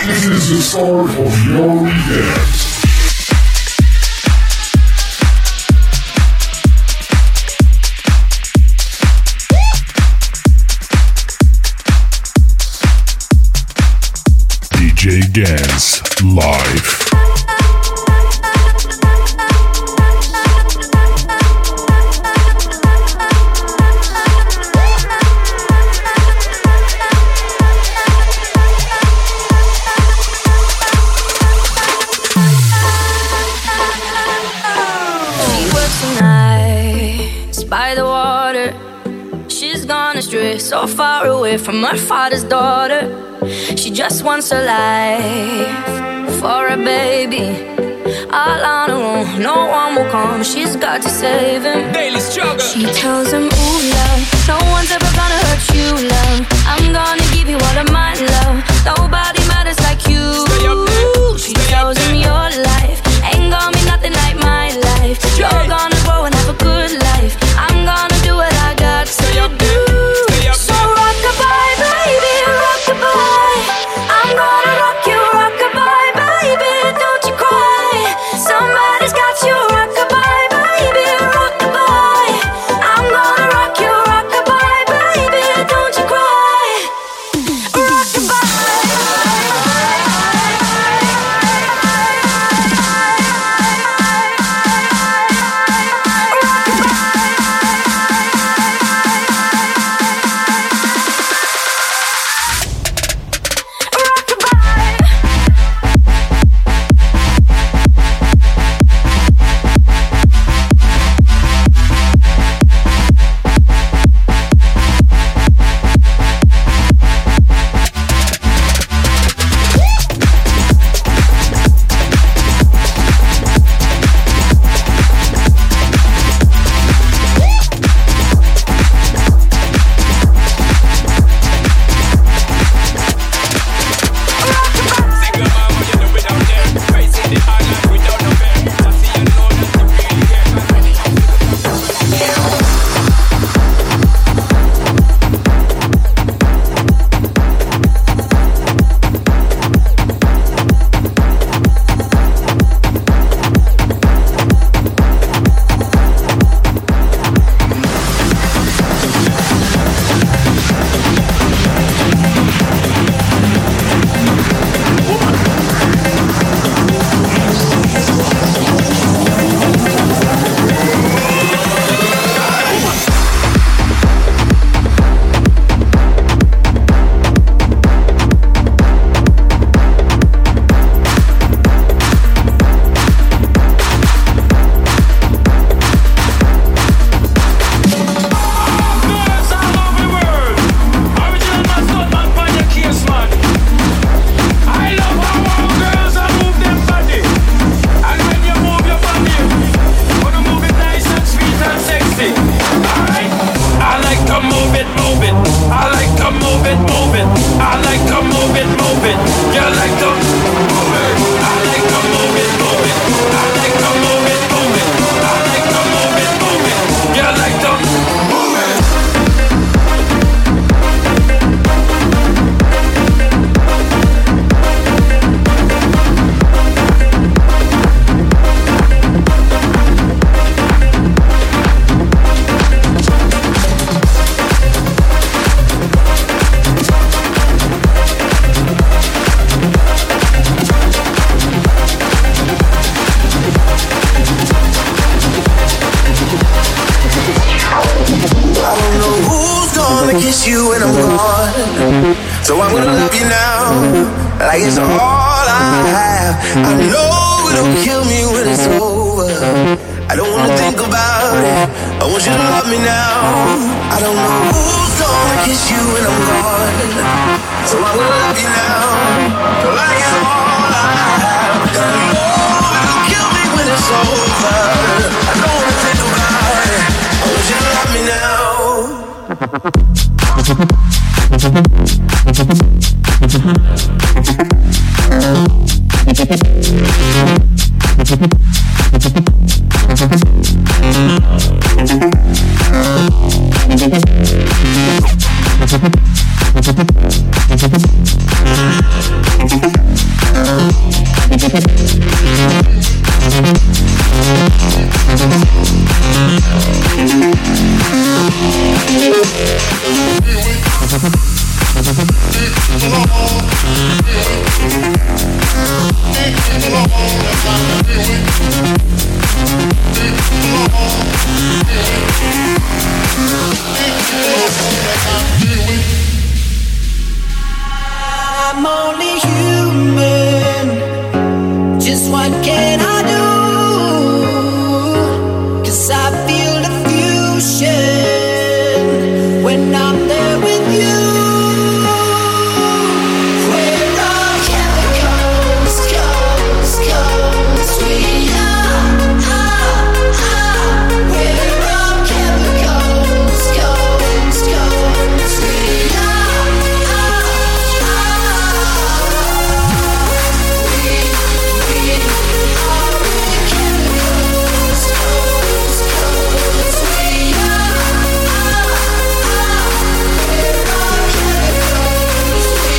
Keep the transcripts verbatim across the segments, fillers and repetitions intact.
This is the start of your weekend. D J Gans live. By the water, she's gone astray, so far away from her father's daughter. She just wants a life for a baby, all on her own. No one will come, she's got to save him. Daily struggle. She tells him, ooh, love, no one's ever gonna hurt you, love. I'm gonna give you all of my love. Nobody matters like you. Stay up there. She Stay tells him your life ain't gonna be nothing like my life. You're gonna grow and have a good life. I'm gonna do what I got to do. So rock-a-bye, baby, rock-a-bye. I'm gonna rock you, rock-a-bye, baby, don't you cry. Somebody's got you, rock-a-bye, baby, rock-a-bye. I'm gonna rock you, rock-a-bye, baby, don't you cry. Rock-a-bye. You when I'm gone, so I'm gonna love you now, like it's all I have. I know it'll kill me when it's over. I don't wanna think about it. I want you to love me now. I don't know who's gonna kiss you when I'm gone, so I'm gonna love you now, like it's all I have. I know it'll kill me when it's over. I don't wanna think about it. I want you to love me now. I'm only human. Just what can I do? 'Cause I feel the fusion when I'm there with you. We're all chemicals, comes, comes, we are. Ah, ah. We're all chemicals, comes, comes, we are. Ah, ah. We, we are chemicals, comes, comes, we are. We're all chemicals, we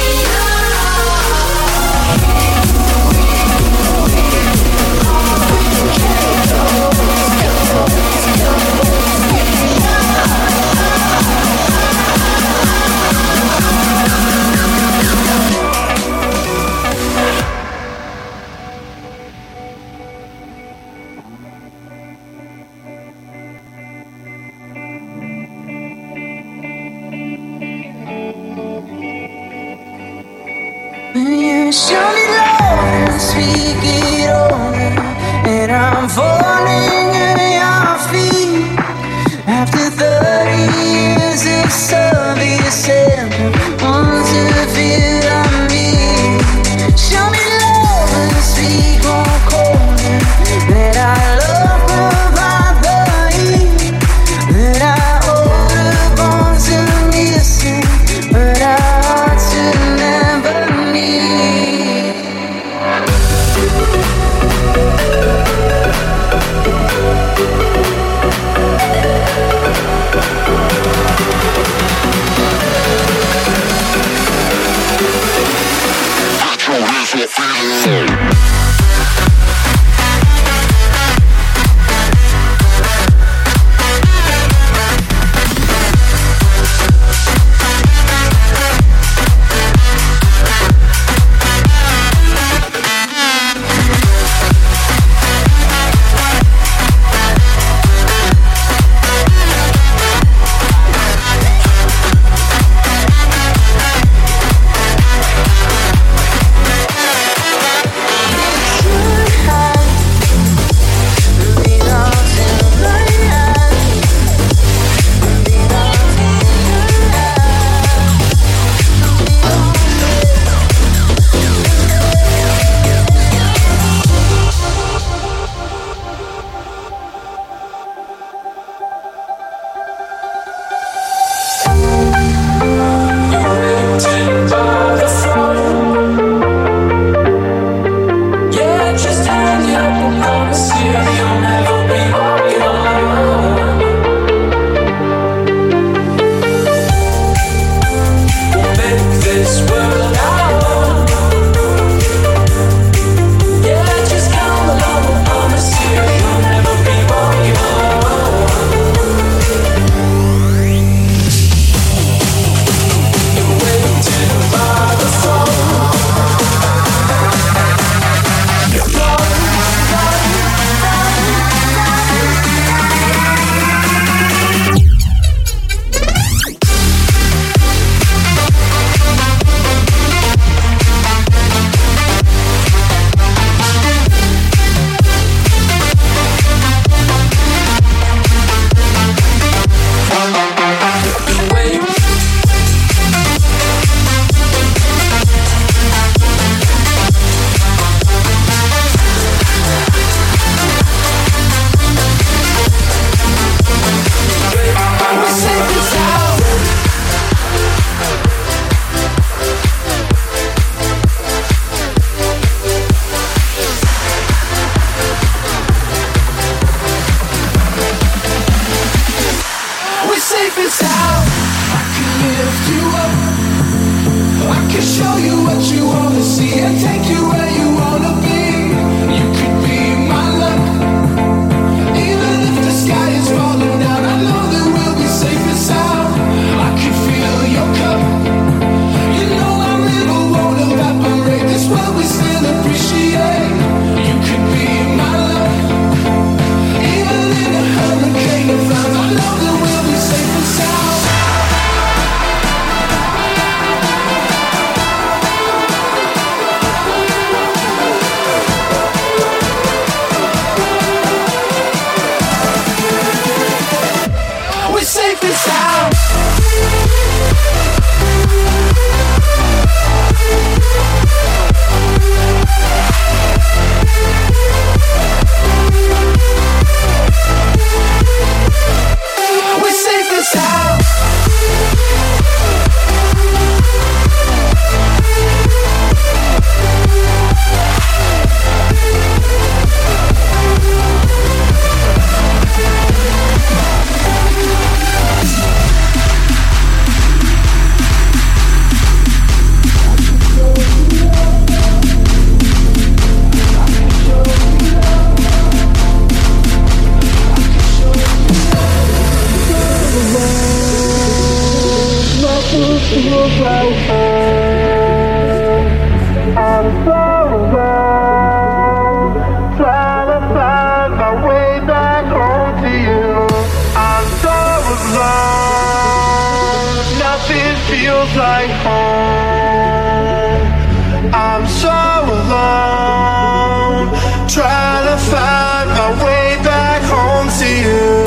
When you show me love and speak it over, and I'm falling at your feet. After thirty years of service, and want to feel I'm me. Show me love and speak more colder, that I love provide the heat, that I hold the bones of missing, but our hearts will never meet. so alone, trying to find my way back home to you.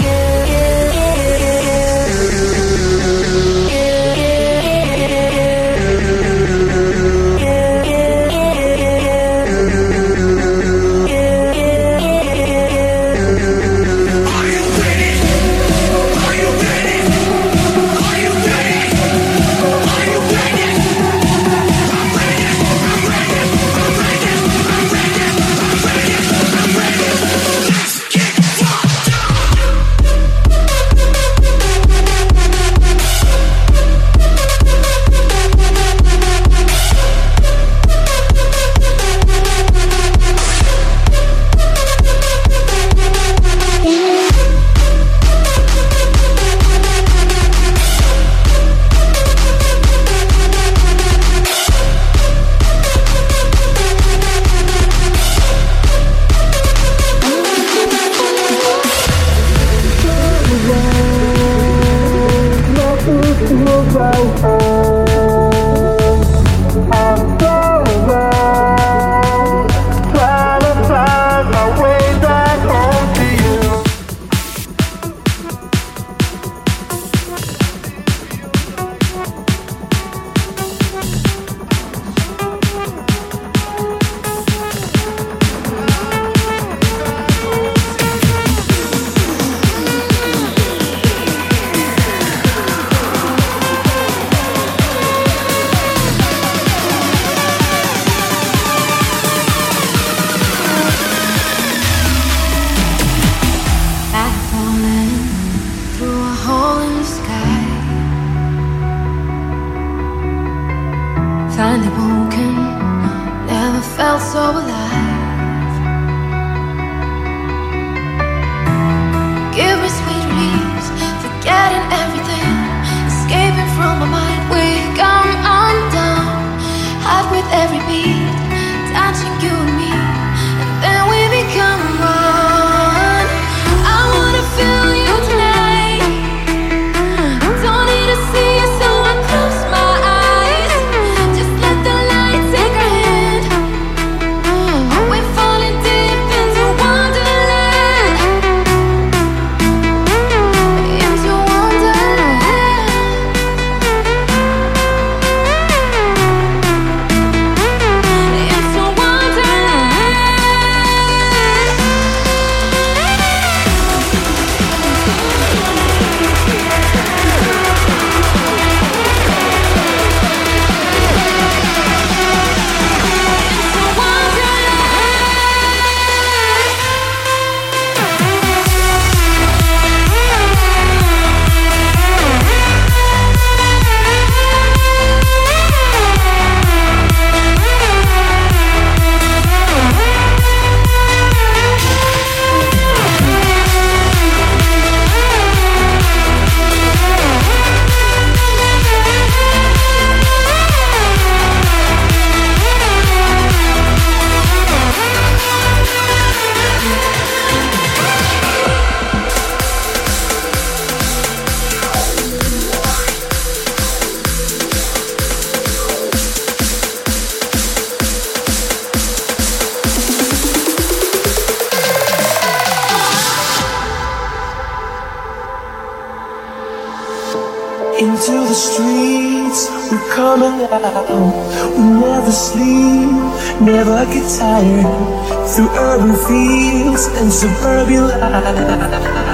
Into the streets, we're coming out. We never sleep, never get tired. Through urban fields and suburban life.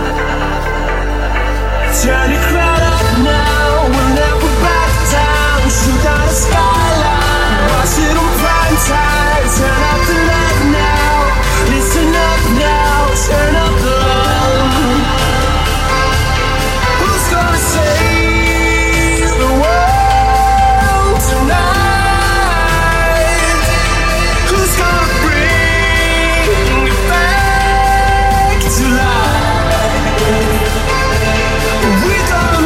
Turn the crowd up now, we'll never back down. Shoot down the skyline, watch it on prime time. Turn up the light now, listen up now, turn up the love. Who's gonna say the world tonight? Who's gonna bring it back to life? We don't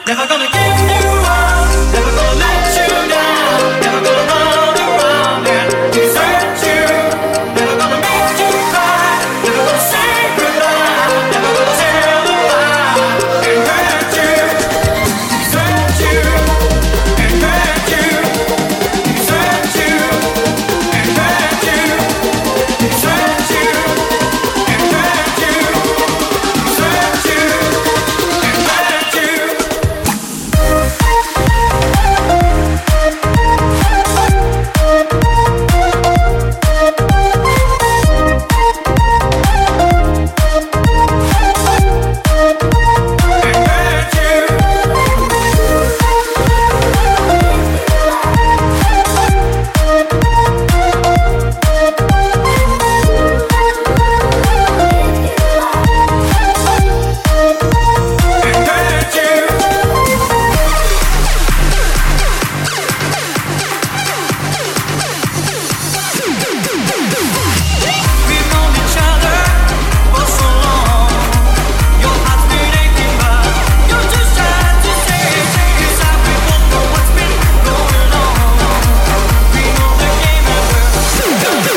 Never gonna give you up, never gonna let you down, never gonna run around and desert you, never gonna make you cry, never gonna say goodbye, never gonna tell a lie and hurt you, desert you and hurt you, desert you and hurt you, desert you and hurt you, desert you and hurt you. We've known each other for so long. Your heart's been aching, but you're too sad to say. Inside we both know what's been going on. We know the game and we're done.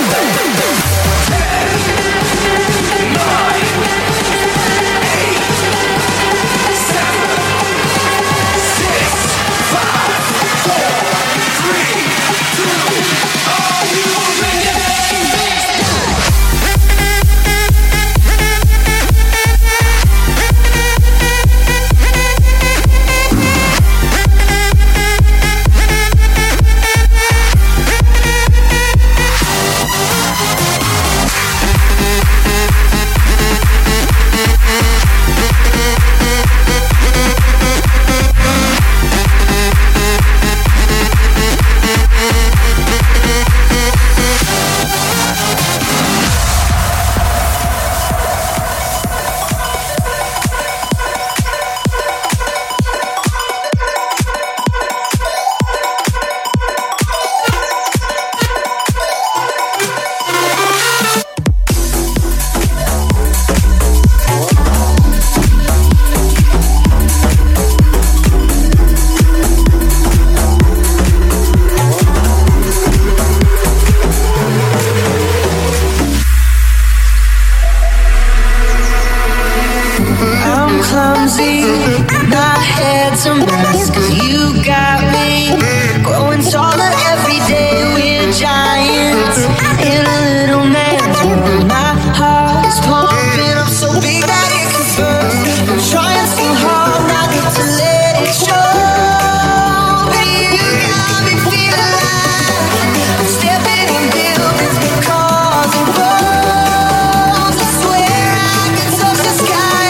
I'm clumsy, my head's a mess, 'cause you got me growing taller every day. We're giants in a little man's world. My heart's pumping up so big that it can burst. I'm trying so hard not to let it show. But you got me feeling like I'm stepping in buildings with cars and roads. I swear I can touch the sky.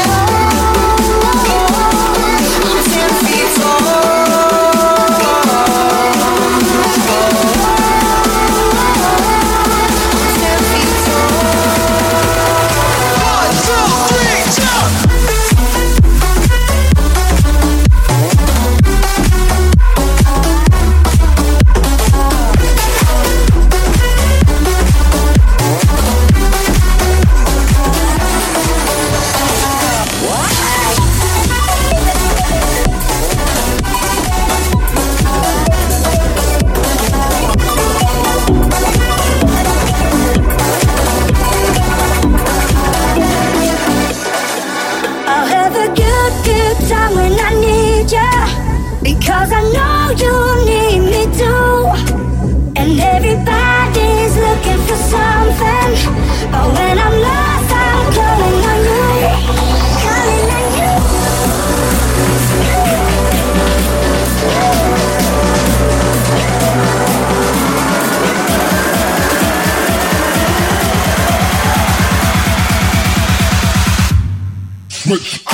I'm ten feet tall. I'm ten feet tall. One, two, three, jump! I'll have a good, good time when I need ya, because I know you need me too. And everybody's looking for something, but when I'm lost, I'm calling on you, calling on you. Switch.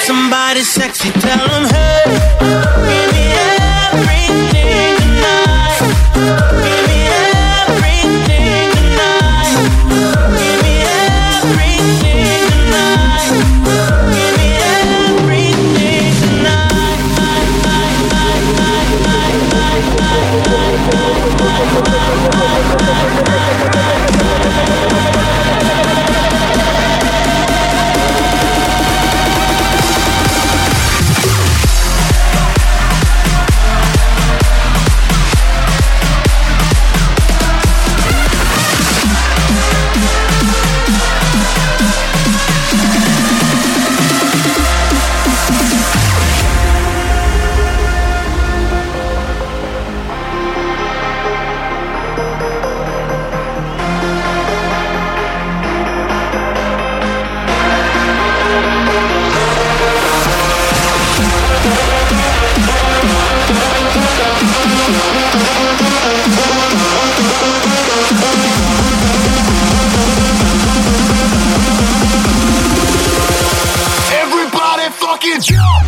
somebody sexy, tell them, hey, give me everything tonight. Give me everything tonight. Give me everything tonight. Give me everything tonight. Everybody fucking jump!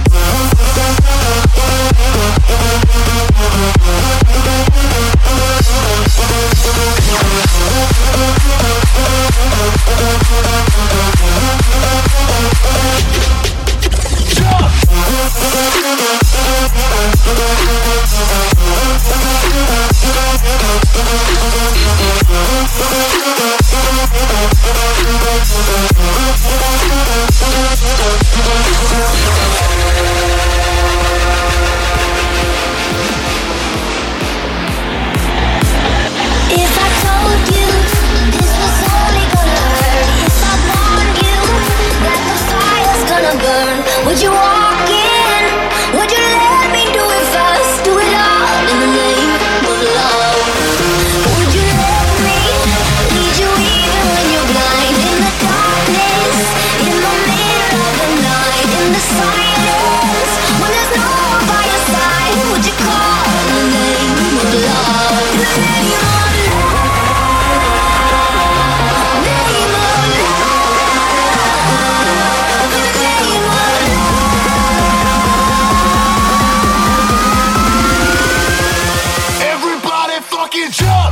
If I told you this was only gonna hurt, if I warned you that the fire's gonna burn, would you walk in? Would you let me do it first? Do it all in the name of love. Would you let me lead you even when you're blind? In the darkness, in the middle of the night, in the silence, when there's no one by your side, would you call in the name of love? In the name of love. Everybody fucking jump!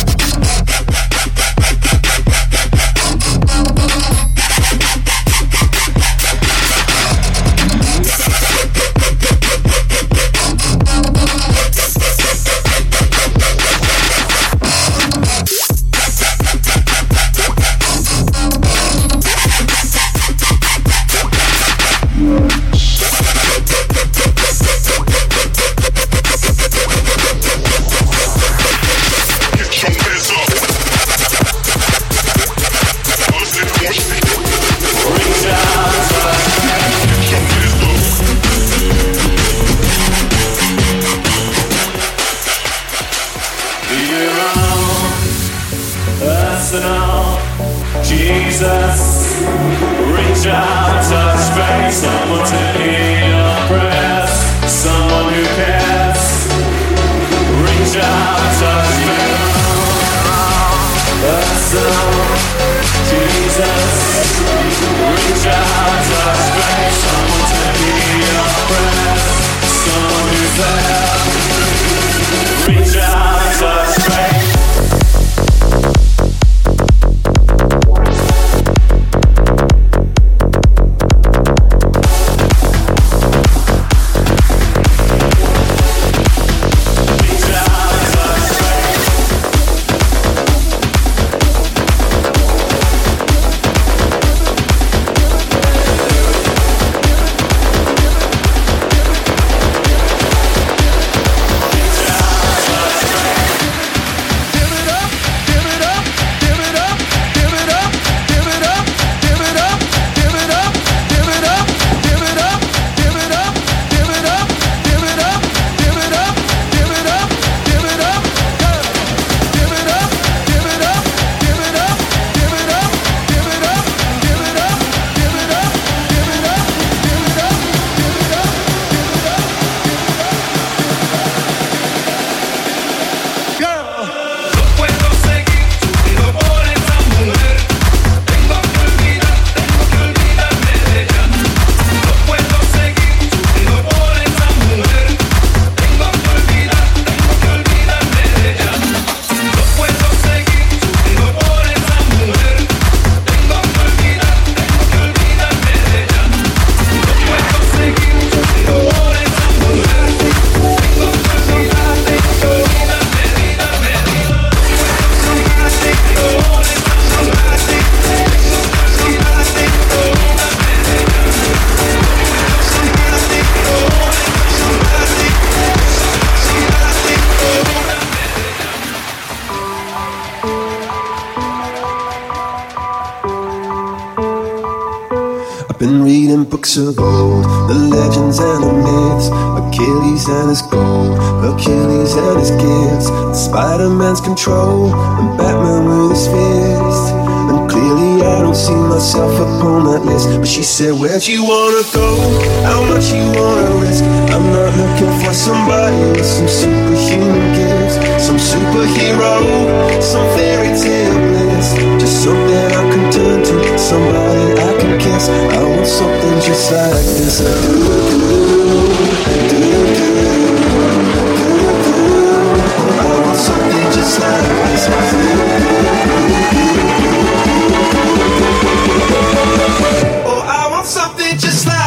Get your hands up. Bust it, push it. Reach out, touch. Get your hands up. Be around us and all. Jesus, reach out, touch face. Someone to hear your prayers. Someone who cares. Reach out, touch face. Us and all. Jesus, reach out, touch face. Someone to hear your prayers. Someone who's there. Reach out, touch face. I've been reading books of old, the legends and the myths, Achilles and his gold, Achilles and his gifts, Spider-Man's control, and Batman with his fist. And clearly I don't see myself upon that list. But she said, where'd you wanna go? How much you wanna risk? I'm not looking for somebody with some superhuman gifts, some superhero, some fairy tale bliss. Just something I can turn to, somebody I can kiss. I want something just like this. I want something just like this. Oh, I want something just like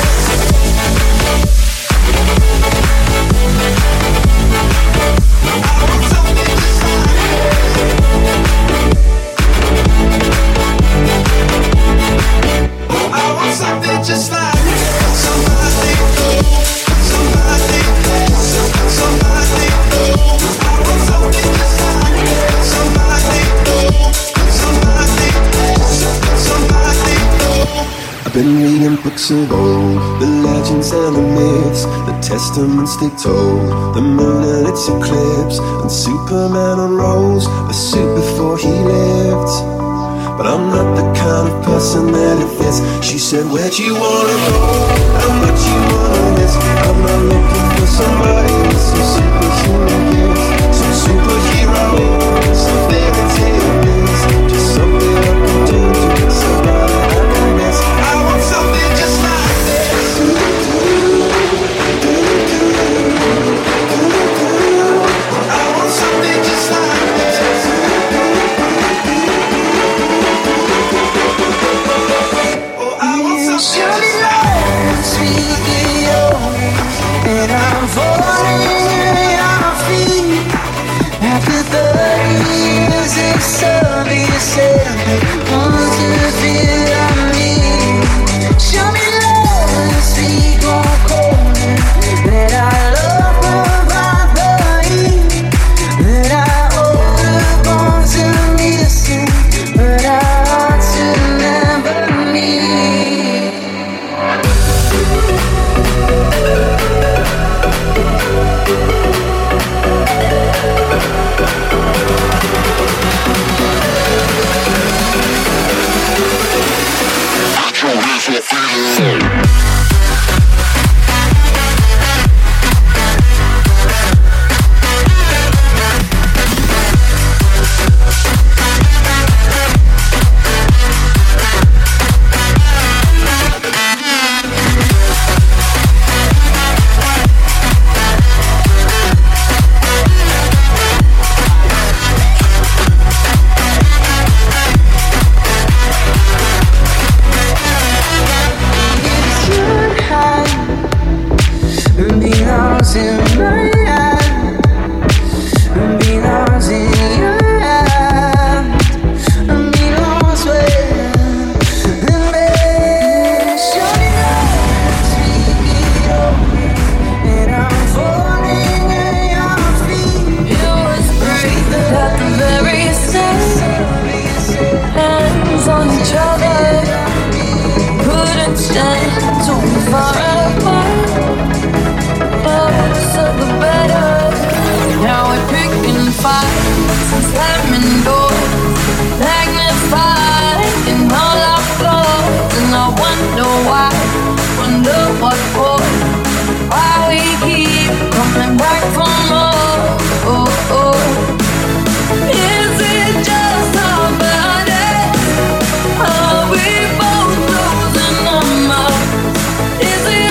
something just like somebody, somebody, somebody, I want something just like somebody, somebody, somebody. I've been reading books of old, the legends and the myths, the testaments they told, the moon and its eclipse, and Superman unrolls a suit before he lived. But I'm not the kind of person that it fits. She said, where'd you wanna go? How much you wanna risk? I'm not looking for somebody with some superhuman gifts, some superhero, some fairy tale bliss. Just something I can turn to, somebody I can miss. I want something just like this. I want something just like this. Show me love, speak it over, and I'm falling at your feet. After thirty years of service, want to feel I need. Show me love, speak on corner, that I love provide the heat, that I hold on to listen, but I ought to never need. Is it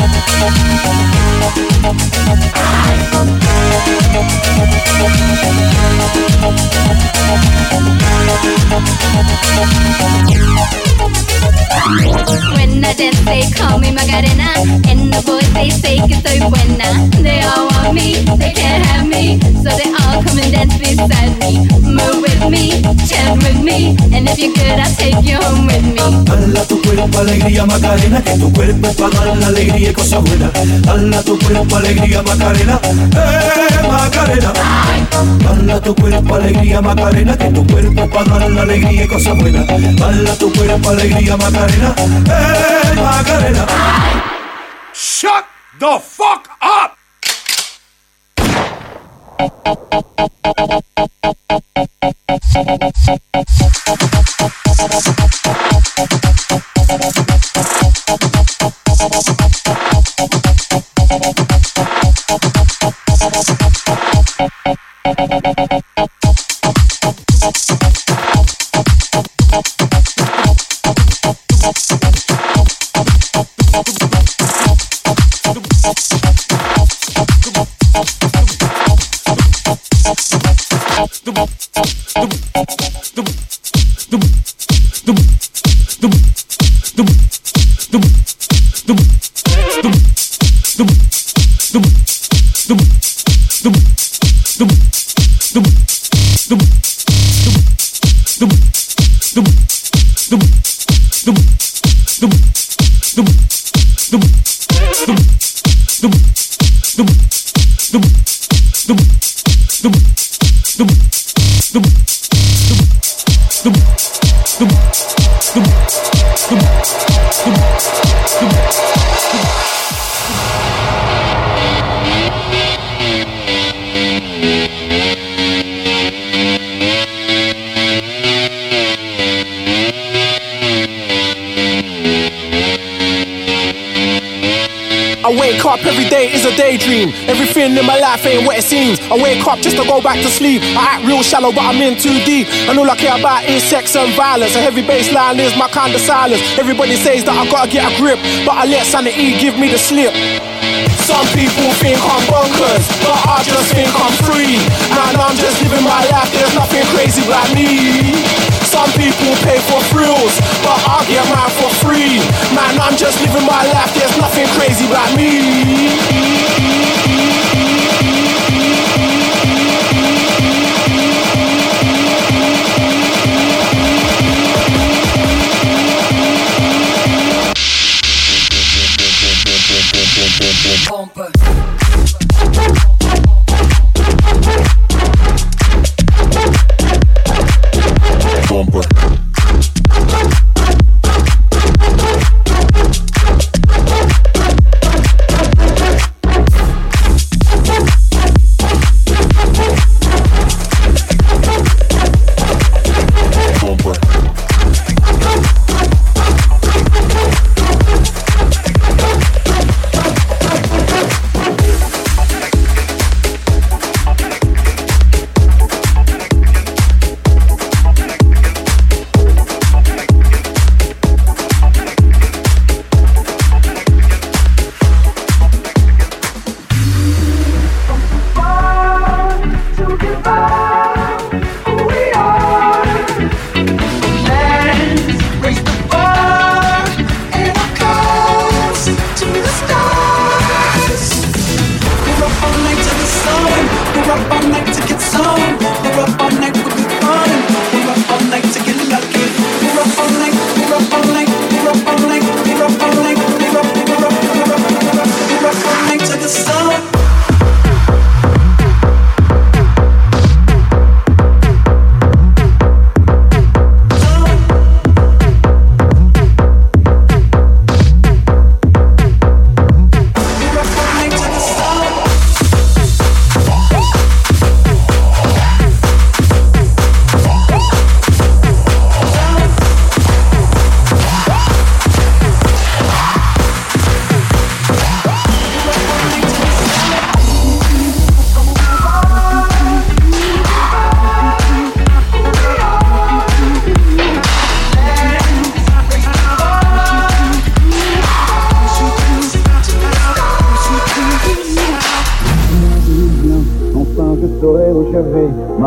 When I dance, they call me Macarena, and the boys they say que soy buena. They all want me, they can't have me, so they all come and dance beside me. Move with me, chant with me, and if you're good, I'll take you home with me. Dala tu cuerpo alegría Macarena, que tu cuerpo es para dar la alegría y cosas buenas. Dala tu cuerpo alegría Macarena, eh Macarena. Dala tu cuerpo alegría Macarena, que tu cuerpo es para dar la alegría y cosas buenas. Dala tu cuerpo alegría Macarena, eh Macarena. Shut the fuck up! I wake up every day is a daydream. Everything in my life ain't what it seems. I wake up just to go back to sleep. I act real shallow but I'm in too deep. And all I care about is sex and violence. A heavy bassline is my kind of silence. Everybody says that I gotta get a grip, but I let sanity give me the slip. Some people think I'm bonkers, but I just think I'm free. Man, I'm just living my life, there's nothing crazy about me. Some people pay for thrills, but I get mine for free. Man, I'm just living my life, there's nothing crazy about me.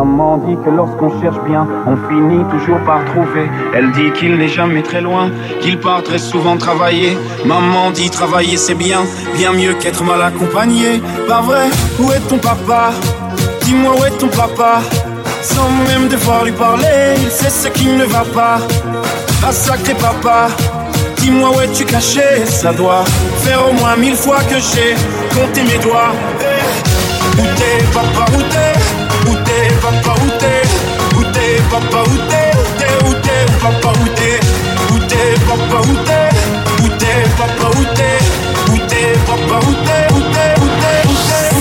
Maman dit que lorsqu'on cherche bien, on finit toujours par trouver. Elle dit qu'il n'est jamais très loin, qu'il part très souvent travailler. Maman dit travailler c'est bien, bien mieux qu'être mal accompagné. Pas vrai, où est ton papa? Dis-moi où est ton papa? Sans même devoir lui parler, il sait ce qui ne va pas. Ah sacré papa, dis-moi où es-tu caché? Ça doit faire au moins mille fois que j'ai compté mes doigts. Où t'es papa, où t'es? Où t'es papa, où t'es? Où t'es papa, où t'es? Où t'es, où t'es papa, où t'es? Où t'es papa, où t'es? Où t'es papa, où t'es? Où t'es papa, où t'es? Où t'es, où t'es, où t'es, où t'es?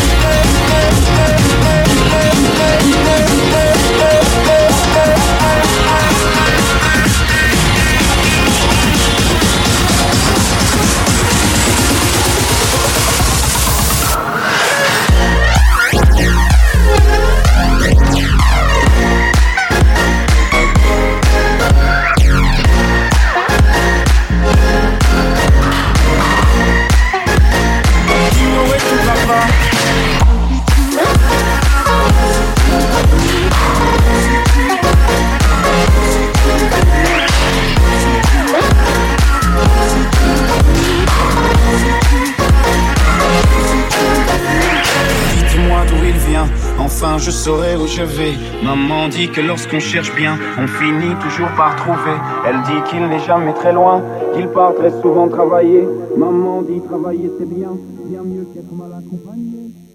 Enfin je saurai où je vais. Maman dit que lorsqu'on cherche bien, on finit toujours par trouver. Elle dit qu'il n'est jamais très loin, qu'il part très souvent travailler. Maman dit travailler c'est bien, bien mieux qu'être mal accompagné.